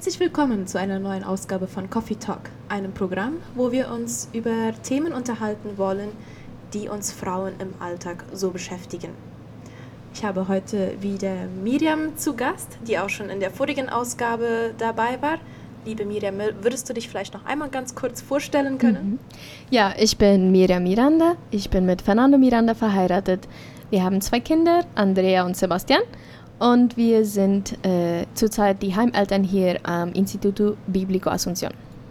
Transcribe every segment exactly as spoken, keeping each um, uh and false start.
Herzlich willkommen zu einer neuen Ausgabe von Coffee Talk, einem Programm, wo wir uns über Themen unterhalten wollen, die uns Frauen im Alltag so beschäftigen. Ich habe heute wieder Miriam zu Gast, die auch schon in der vorigen Ausgabe dabei war. Liebe Miriam, würdest du dich vielleicht noch einmal ganz kurz vorstellen können? Mhm. Ja, ich bin Miriam Miranda. Ich bin mit Fernando Miranda verheiratet. Wir haben zwei Kinder, Andrea und Sebastian. Und wir sind äh, zurzeit die Heimeltern hier am Instituto Bíblico Asunción.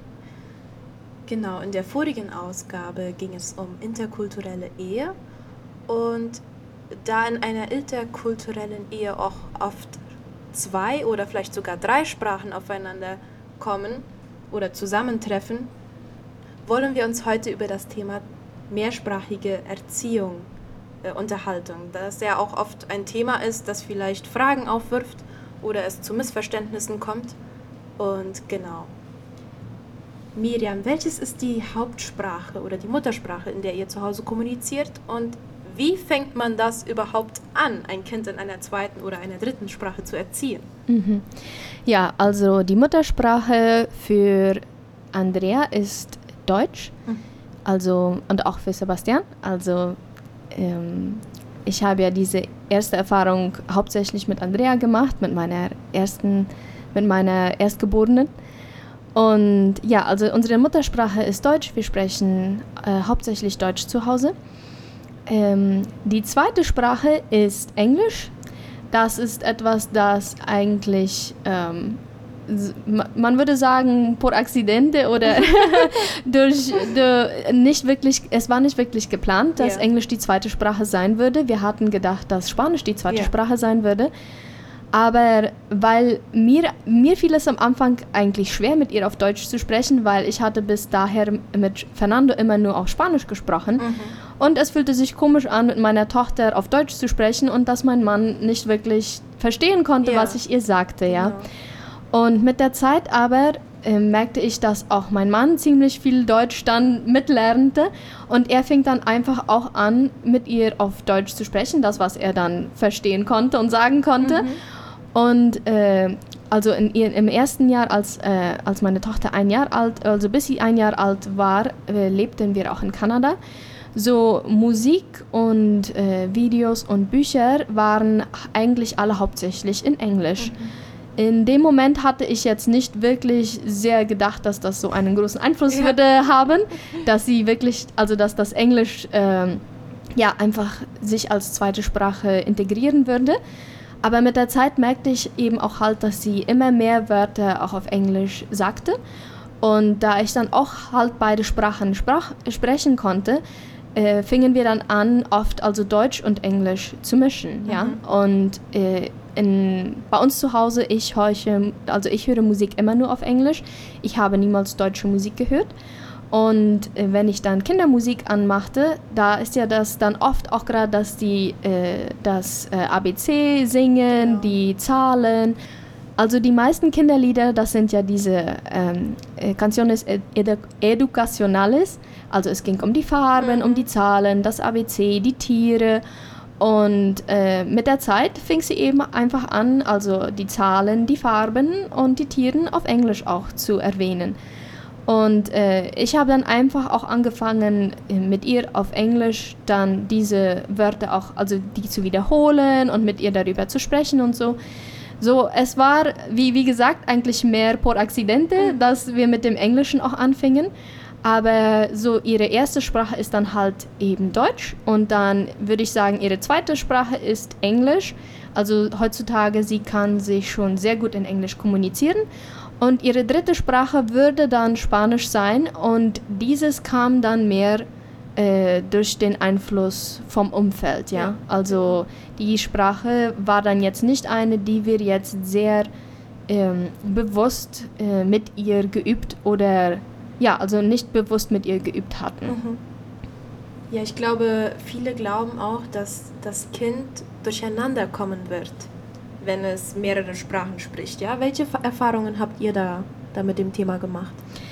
Genau, in der vorigen Ausgabe ging es um interkulturelle Ehe. Und da in einer interkulturellen Ehe auch oft zwei oder vielleicht sogar drei Sprachen aufeinander kommen oder zusammentreffen, wollen wir uns heute über das Thema mehrsprachige Erziehung äh, unterhalten. Das ja auch oft ein Thema ist, das vielleicht Fragen aufwirft oder es zu Missverständnissen kommt. Und genau. Miriam, welches ist die Hauptsprache oder die Muttersprache, in der ihr zu Hause kommuniziert, und wie fängt man das überhaupt an, ein Kind in einer zweiten oder einer dritten Sprache zu erziehen? Mhm. Ja, also die Muttersprache für Andrea ist Deutsch, mhm. also und auch für Sebastian. Also ähm, ich habe ja diese erste Erfahrung hauptsächlich mit Andrea gemacht, mit meiner ersten, mit meiner Erstgeborenen. Und ja, also unsere Muttersprache ist Deutsch. Wir sprechen äh, hauptsächlich Deutsch zu Hause. Ähm, die zweite Sprache ist Englisch. Das ist etwas, das eigentlich, ähm, man würde sagen, por accidente oder durch, durch nicht wirklich, es war nicht wirklich geplant, dass yeah. Englisch die zweite Sprache sein würde. Wir hatten gedacht, dass Spanisch die zweite yeah. Sprache sein würde. Aber weil mir, mir fiel es am Anfang eigentlich schwer, mit ihr auf Deutsch zu sprechen, weil ich hatte bis daher mit Fernando immer nur auf Spanisch gesprochen. Mhm. Und es fühlte sich komisch an, mit meiner Tochter auf Deutsch zu sprechen und dass mein Mann nicht wirklich verstehen konnte, ja. was ich ihr sagte. Ja. Genau. Und mit der Zeit aber äh, merkte ich, dass auch mein Mann ziemlich viel Deutsch dann mitlernte. Und er fing dann einfach auch an, mit ihr auf Deutsch zu sprechen, das, was er dann verstehen konnte und sagen konnte. Mhm. Und äh, also in, in, im ersten Jahr, als, äh, als meine Tochter ein Jahr alt, also bis sie ein Jahr alt war, äh, lebten wir auch in Kanada. So Musik und äh, Videos und Bücher waren eigentlich alle hauptsächlich in Englisch. Mhm. In dem Moment hatte ich jetzt nicht wirklich sehr gedacht, dass das so einen großen Einfluss ja. würde haben, dass sie wirklich, also dass das Englisch äh, ja einfach sich als zweite Sprache integrieren würde. Aber mit der Zeit merkte ich eben auch halt, dass sie immer mehr Wörter auch auf Englisch sagte. Und da ich dann auch halt beide Sprachen sprach, sprechen konnte, äh, fingen wir dann an, oft also Deutsch und Englisch zu mischen. Mhm. Ja? Und äh, in, bei uns zu Hause, ich höre, also ich höre Musik immer nur auf Englisch. Ich habe niemals deutsche Musik gehört. Und äh, wenn ich dann Kindermusik anmachte, da ist ja das dann oft auch gerade, dass die äh, das äh, A B C singen, genau. die Zahlen. Also die meisten Kinderlieder, das sind ja diese ähm, äh, Canciones edu- educacionales. Also es ging um die Farben, mhm. um die Zahlen, das A B C, die Tiere. Und äh, mit der Zeit fing sie eben einfach an, also die Zahlen, die Farben und die Tiere auf Englisch auch zu erwähnen. Und äh, ich habe dann einfach auch angefangen, mit ihr auf Englisch dann diese Wörter auch, also die zu wiederholen und mit ihr darüber zu sprechen und so. So, es war, wie, wie gesagt, eigentlich mehr por accidente, mhm. dass wir mit dem Englischen auch anfingen. Aber so ihre erste Sprache ist dann halt eben Deutsch. Und dann würde ich sagen, ihre zweite Sprache ist Englisch. Also heutzutage, sie kann sich schon sehr gut in Englisch kommunizieren. Und ihre dritte Sprache würde dann Spanisch sein, und dieses kam dann mehr äh, durch den Einfluss vom Umfeld. Ja? Ja. Also die Sprache war dann jetzt nicht eine, die wir jetzt sehr ähm, bewusst äh, mit ihr geübt oder ja, also nicht bewusst mit ihr geübt hatten. Mhm. Ja, ich glaube, viele glauben auch, dass das Kind durcheinander kommen wird, wenn es mehrere Sprachen spricht. Ja? Welche Erfahrungen habt ihr da, da mit dem Thema gemacht?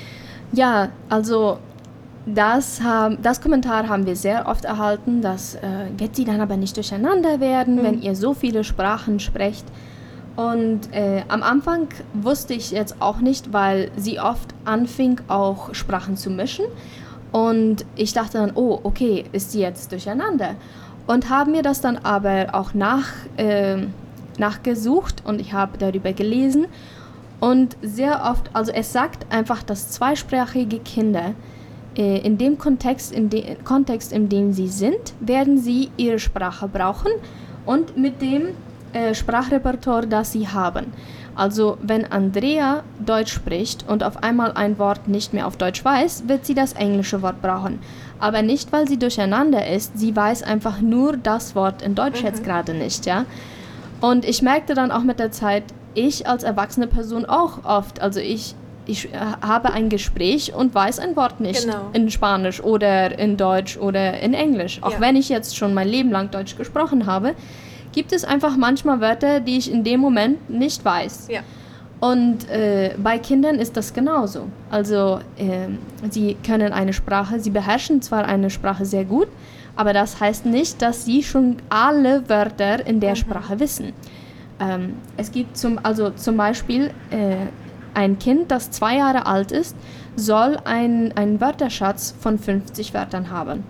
Ja, also das, haben, das Kommentar haben wir sehr oft erhalten, dass äh, wird sie dann aber nicht durcheinander werden, mhm. wenn ihr so viele Sprachen sprecht. Und äh, am Anfang wusste ich jetzt auch nicht, weil sie oft anfing, auch Sprachen zu mischen. Und ich dachte dann, oh, okay, ist sie jetzt durcheinander? Und habe mir das dann aber auch nach, äh, nachgesucht und ich habe darüber gelesen. Und sehr oft, also es sagt einfach, dass zweisprachige Kinder äh, in dem Kontext in, de- Kontext, in dem sie sind, werden sie ihre Sprache brauchen und mit dem äh, Sprachrepertoire, das sie haben. Also wenn Andrea Deutsch spricht und auf einmal ein Wort nicht mehr auf Deutsch weiß, wird sie das englische Wort brauchen. Aber nicht, weil sie durcheinander ist, sie weiß einfach nur das Wort in Deutsch mhm. jetzt gerade nicht, ja. Und ich merkte dann auch mit der Zeit, ich als erwachsene Person auch oft, also ich, ich habe ein Gespräch und weiß ein Wort nicht genau. in Spanisch oder in Deutsch oder in Englisch. Auch ja. wenn ich jetzt schon mein Leben lang Deutsch gesprochen habe, gibt es einfach manchmal Wörter, die ich in dem Moment nicht weiß. Ja. Und äh, bei Kindern ist das genauso. Also äh, sie können eine Sprache, sie beherrschen zwar eine Sprache sehr gut, aber das heißt nicht, dass sie schon alle Wörter in der mhm. Sprache wissen. Ähm, es gibt zum, also zum Beispiel äh, ein Kind, das zwei Jahre alt ist, soll ein, einen Wörterschatz von fünfzig Wörtern haben.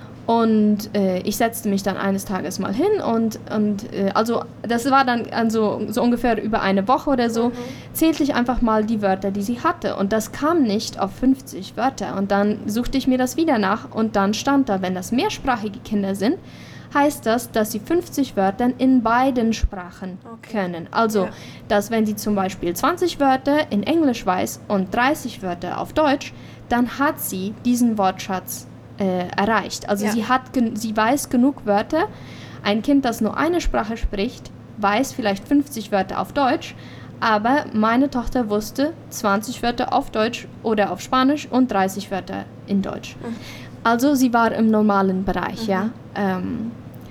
Und äh, ich setzte mich dann eines Tages mal hin und, und äh, also das war dann also, so ungefähr über eine Woche oder so, mhm. zählte ich einfach mal die Wörter, die sie hatte. Und das kam nicht auf fünfzig Wörter. Und dann suchte ich mir das wieder nach und dann stand da, wenn das mehrsprachige Kinder sind, heißt das, dass sie fünfzig Wörter in beiden Sprachen okay. können. Also, ja. dass wenn sie zum Beispiel zwanzig Wörter in Englisch weiß und dreißig Wörter auf Deutsch, dann hat sie diesen Wortschatz Äh, erreicht. Also ja. sie hat, gen- sie weiß genug Wörter. Ein Kind, das nur eine Sprache spricht, weiß vielleicht fünfzig Wörter auf Deutsch, aber meine Tochter wusste zwanzig Wörter auf Deutsch oder auf Spanisch und dreißig Wörter in Deutsch. Mhm. Also sie war im normalen Bereich, mhm. ja. Ähm,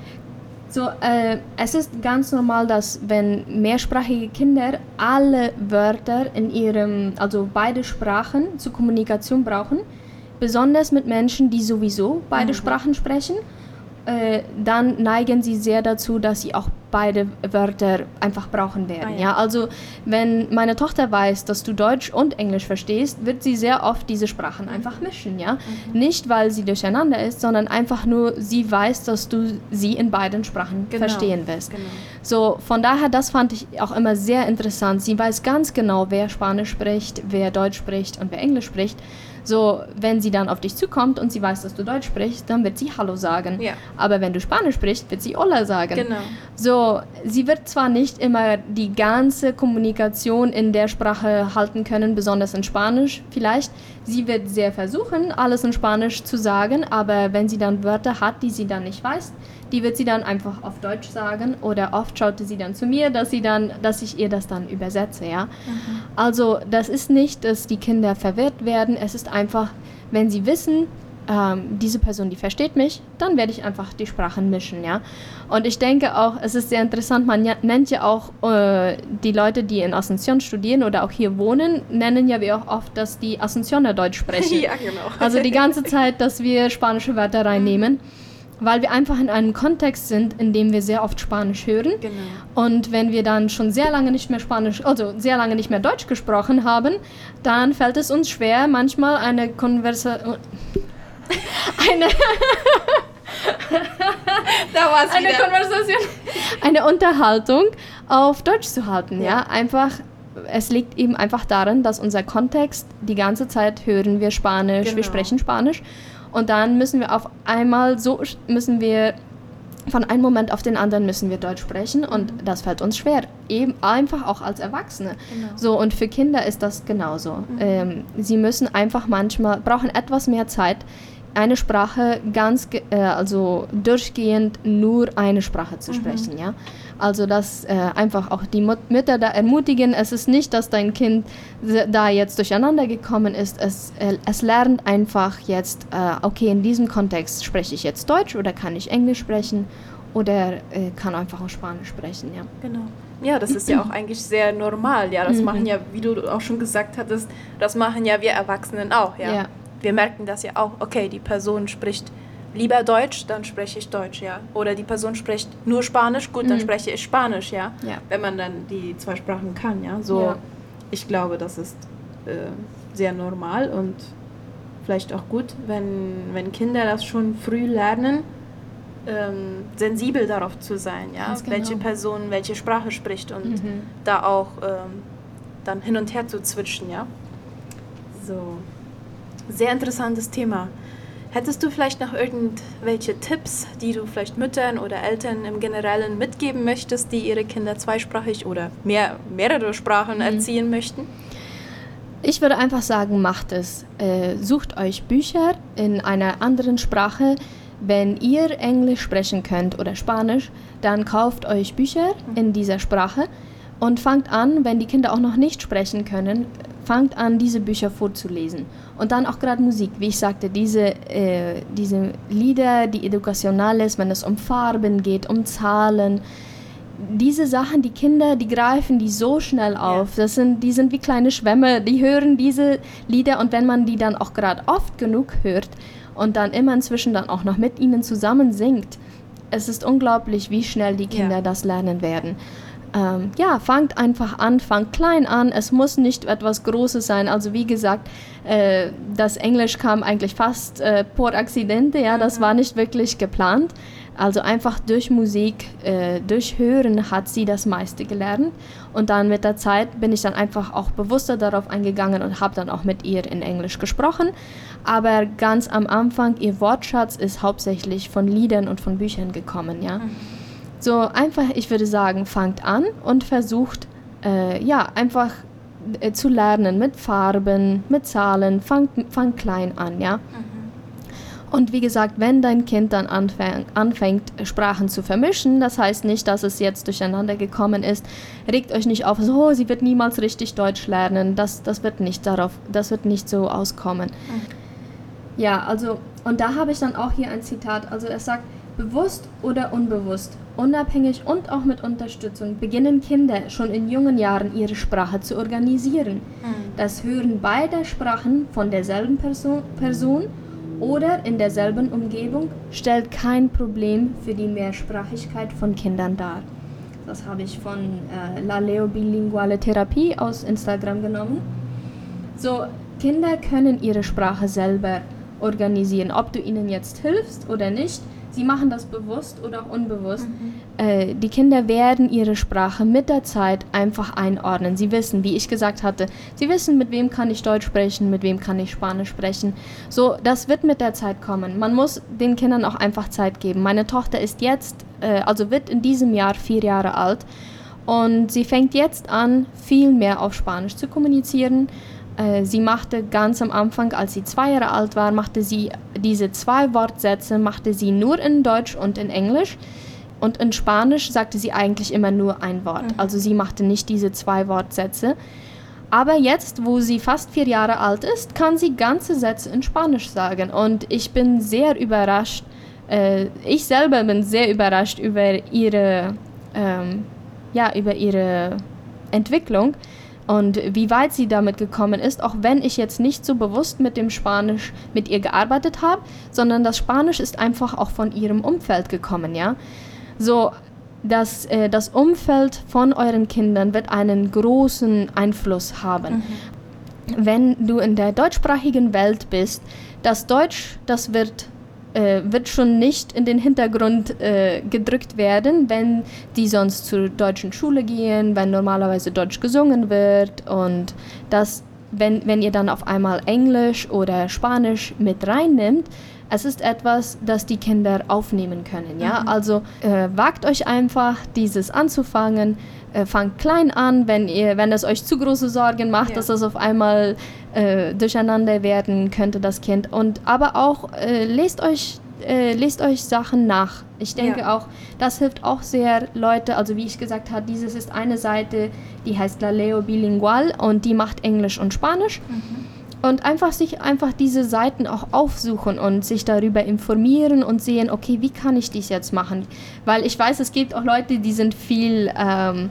so, äh, es ist ganz normal, dass wenn mehrsprachige Kinder alle Wörter in ihrem, also beide Sprachen zur Kommunikation brauchen, besonders mit Menschen, die sowieso beide mhm. Sprachen sprechen, äh, dann neigen sie sehr dazu, dass sie auch beide Wörter einfach brauchen werden. Ah, ja. Ja? Also wenn meine Tochter weiß, dass du Deutsch und Englisch verstehst, wird sie sehr oft diese Sprachen einfach mischen. Ja? Mhm. Nicht, weil sie durcheinander ist, sondern einfach nur, sie weiß, dass du sie in beiden Sprachen genau. verstehen wirst. Genau. So, von daher, das fand ich auch immer sehr interessant. Sie weiß ganz genau, wer Spanisch spricht, wer Deutsch spricht und wer Englisch spricht. So, wenn sie dann auf dich zukommt und sie weiß, dass du Deutsch sprichst, dann wird sie Hallo sagen. Ja. Aber wenn du Spanisch sprichst, wird sie Hola sagen. Genau. So, sie wird zwar nicht immer die ganze Kommunikation in der Sprache halten können, besonders in Spanisch vielleicht. Sie wird sehr versuchen, alles in Spanisch zu sagen, aber wenn sie dann Wörter hat, die sie dann nicht weiß, die wird sie dann einfach auf Deutsch sagen oder oft schaute sie dann zu mir, dass sie dann, dass ich ihr das dann übersetze, ja. Mhm. Also das ist nicht, dass die Kinder verwirrt werden, es ist einfach, wenn sie wissen, ähm, diese Person, die versteht mich, dann werde ich einfach die Sprachen mischen, ja. Und ich denke auch, es ist sehr interessant, man ja, nennt ja auch äh, die Leute, die in Asunción studieren oder auch hier wohnen, nennen ja wir auch oft, dass die Asuncióner Deutsch sprechen. Ja, genau. Also die ganze Zeit, dass wir spanische Wörter reinnehmen. Weil wir einfach in einem Kontext sind, in dem wir sehr oft Spanisch hören. Genau. Und wenn wir dann schon sehr lange nicht mehr Spanisch, also sehr lange nicht mehr Deutsch gesprochen haben, dann fällt es uns schwer, manchmal eine Konversation, eine, da war's eine wieder. Konversation, eine Unterhaltung auf Deutsch zu halten. Ja. Ja, einfach. Es liegt eben einfach daran, dass unser Kontext, die ganze Zeit hören wir Spanisch, genau. wir sprechen Spanisch. Und dann müssen wir auf einmal so, müssen wir, von einem Moment auf den anderen müssen wir Deutsch sprechen und mhm. das fällt uns schwer, eben einfach auch als Erwachsene. Genau. So, und für Kinder ist das genauso. Mhm. Ähm, sie müssen einfach manchmal, brauchen etwas mehr Zeit, eine Sprache ganz, äh, also durchgehend nur eine Sprache zu sprechen, mhm. ja. Also, dass äh, einfach auch die Mut- Mütter da ermutigen, es ist nicht, dass dein Kind da jetzt durcheinander gekommen ist, es, äh, es lernt einfach jetzt, äh, okay, in diesem Kontext spreche ich jetzt Deutsch oder kann ich Englisch sprechen oder äh, kann einfach auch Spanisch sprechen, ja. Genau. Ja, das ist ja auch eigentlich sehr normal, ja, das mhm. machen ja, wie du auch schon gesagt hattest, das machen ja wir Erwachsenen auch, ja. ja. Wir merken das ja auch, okay, die Person spricht lieber Deutsch, dann spreche ich Deutsch, ja. Oder die Person spricht nur Spanisch, gut, dann Mhm. spreche ich Spanisch, ja. Ja. Wenn man dann die zwei Sprachen kann, ja. So, Ja. ich glaube, das ist äh, sehr normal und vielleicht auch gut, wenn, wenn Kinder das schon früh lernen, ähm, sensibel darauf zu sein, ja, Ganz genau. welche Person welche Sprache spricht und Mhm. da auch ähm, dann hin und her zu switchen, ja. So, sehr interessantes Thema. Hättest du vielleicht noch irgendwelche Tipps, die du vielleicht Müttern oder Eltern im Generellen mitgeben möchtest, die ihre Kinder zweisprachig oder mehr, mehrere Sprachen Mhm. erziehen möchten? Ich würde einfach sagen, macht es. Äh, sucht euch Bücher in einer anderen Sprache. Wenn ihr Englisch sprechen könnt oder Spanisch, dann kauft euch Bücher in dieser Sprache und fangt an, wenn die Kinder auch noch nicht sprechen können, fangt an, diese Bücher vorzulesen. Und dann auch gerade Musik, wie ich sagte, diese, äh, diese Lieder, die educacionales, wenn es um Farben geht, um Zahlen, diese Sachen, die Kinder, die greifen die so schnell auf. Das sind, die sind wie kleine Schwämme, die hören diese Lieder und wenn man die dann auch gerade oft genug hört und dann immer inzwischen dann auch noch mit ihnen zusammen singt, es ist unglaublich, wie schnell die Kinder Ja. das lernen werden. Ähm, ja, fangt einfach an, fangt klein an, es muss nicht etwas Großes sein. Also wie gesagt, äh, das Englisch kam eigentlich fast äh, por accidente, ja, das war nicht wirklich geplant. Also einfach durch Musik, äh, durch Hören hat sie das meiste gelernt und dann mit der Zeit bin ich dann einfach auch bewusster darauf eingegangen und habe dann auch mit ihr in Englisch gesprochen. Aber ganz am Anfang, ihr Wortschatz ist hauptsächlich von Liedern und von Büchern gekommen, ja. So einfach, ich würde sagen, fangt an und versucht, äh, ja, einfach äh, zu lernen mit Farben, mit Zahlen, fangt, fangt klein an, ja. Und wie gesagt, wenn dein Kind dann anfäng, anfängt, Sprachen zu vermischen, das heißt nicht, dass es jetzt durcheinander gekommen ist, regt euch nicht auf, so, oh, sie wird niemals richtig Deutsch lernen, das, das, wird nicht darauf, das wird nicht so auskommen. Mhm. Ja, also, und da habe ich dann auch hier ein Zitat, also er sagt, bewusst oder unbewusst, unabhängig und auch mit Unterstützung, beginnen Kinder schon in jungen Jahren ihre Sprache zu organisieren. Mhm. Das Hören beider Sprachen von derselben Person, Person oder in derselben Umgebung stellt kein Problem für die Mehrsprachigkeit von Kindern dar. Das habe ich von äh, La Leo Bilinguale Therapie aus Instagram genommen. So, Kinder können ihre Sprache selber organisieren, ob du ihnen jetzt hilfst oder nicht. Sie machen das bewusst oder auch unbewusst. Mhm. Äh, die Kinder werden ihre Sprache mit der Zeit einfach einordnen. Sie wissen, wie ich gesagt hatte, sie wissen, mit wem kann ich Deutsch sprechen, mit wem kann ich Spanisch sprechen. So, das wird mit der Zeit kommen. Man muss den Kindern auch einfach Zeit geben. Meine Tochter ist jetzt, äh, also wird in diesem Jahr vier Jahre alt und sie fängt jetzt an, viel mehr auf Spanisch zu kommunizieren. Sie machte ganz am Anfang, als sie zwei Jahre alt war, machte sie diese zwei Wortsätze, machte sie nur in Deutsch und in Englisch. Und in Spanisch sagte sie eigentlich immer nur ein Wort. Mhm. Also sie machte nicht diese zwei Wortsätze. Aber jetzt, wo sie fast vier Jahre alt ist, kann sie ganze Sätze in Spanisch sagen. Und ich bin sehr überrascht, äh, ich selber bin sehr überrascht über ihre, ähm, ja, über ihre Entwicklung. Und wie weit sie damit gekommen ist, auch wenn ich jetzt nicht so bewusst mit dem Spanisch mit ihr gearbeitet habe, sondern das Spanisch ist einfach auch von ihrem Umfeld gekommen, ja. So, dass äh, das Umfeld von euren Kindern wird einen großen Einfluss haben. Mhm. Wenn du in der deutschsprachigen Welt bist, das Deutsch, das wird Äh, wird schon nicht in den Hintergrund äh, gedrückt werden, wenn die sonst zur deutschen Schule gehen, wenn normalerweise Deutsch gesungen wird und das, wenn, wenn ihr dann auf einmal Englisch oder Spanisch mit reinnimmt, es ist etwas, das die Kinder aufnehmen können, ja, mhm. Also äh, wagt euch einfach, dieses anzufangen, äh, fangt klein an, wenn ihr, wenn es euch zu große Sorgen macht, ja. Dass das auf einmal äh, durcheinander werden könnte, das Kind, und aber auch äh, lest euch äh, lest euch Sachen nach. Ich denke ja. auch, das hilft auch sehr Leute, also wie ich gesagt habe, dieses ist eine Seite, die heißt La Leo Bilingual und die macht Englisch und Spanisch. Mhm. Und einfach sich einfach diese Seiten auch aufsuchen und sich darüber informieren und sehen, okay, wie kann ich dies jetzt machen? Weil ich weiß, es gibt auch Leute, die sind viel ähm,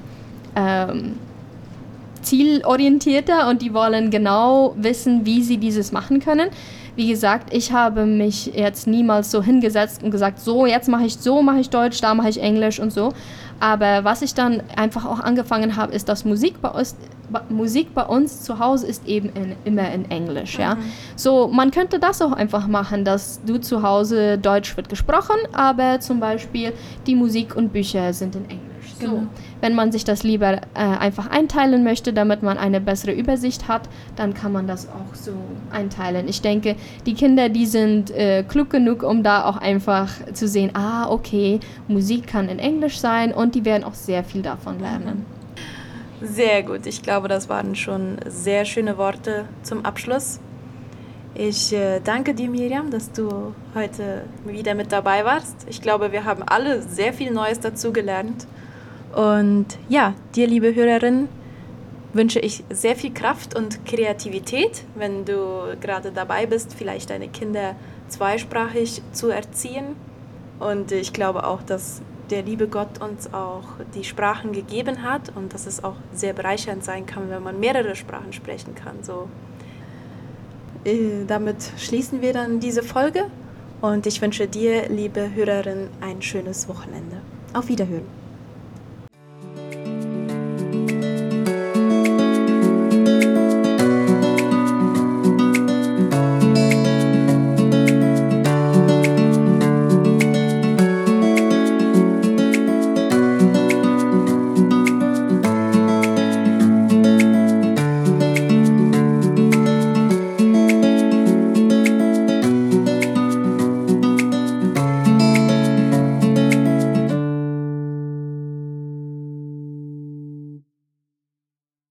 ähm, zielorientierter und die wollen genau wissen, wie sie dieses machen können. wie gesagt, ich habe mich jetzt niemals so hingesetzt und gesagt, so, jetzt mache ich so, mache ich Deutsch, da mache ich Englisch und so. Aber was ich dann einfach auch angefangen habe, ist, dass Musik bei uns, Musik bei uns zu Hause ist eben in, immer in Englisch. Ja? Mhm. So, man könnte das auch einfach machen, dass du zu Hause Deutsch wird gesprochen, aber zum Beispiel die Musik und Bücher sind in Englisch. Genau. So, wenn man sich das lieber äh, einfach einteilen möchte, damit man eine bessere Übersicht hat, dann kann man das auch so einteilen. Ich denke, die Kinder, die sind äh, klug genug, um da auch einfach zu sehen, ah, okay, Musik kann in Englisch sein und die werden auch sehr viel davon lernen. Sehr gut. Ich glaube, das waren schon sehr schöne Worte zum Abschluss. Ich äh, danke dir, Miriam, dass du heute wieder mit dabei warst. Ich glaube, wir haben alle sehr viel Neues dazu gelernt. Und ja, dir, liebe Hörerin, wünsche ich sehr viel Kraft und Kreativität, wenn du gerade dabei bist, vielleicht deine Kinder zweisprachig zu erziehen. Und ich glaube auch, dass der liebe Gott uns auch die Sprachen gegeben hat und dass es auch sehr bereichernd sein kann, wenn man mehrere Sprachen sprechen kann. So, äh, damit schließen wir dann diese Folge und ich wünsche dir, liebe Hörerin, ein schönes Wochenende. Auf Wiederhören.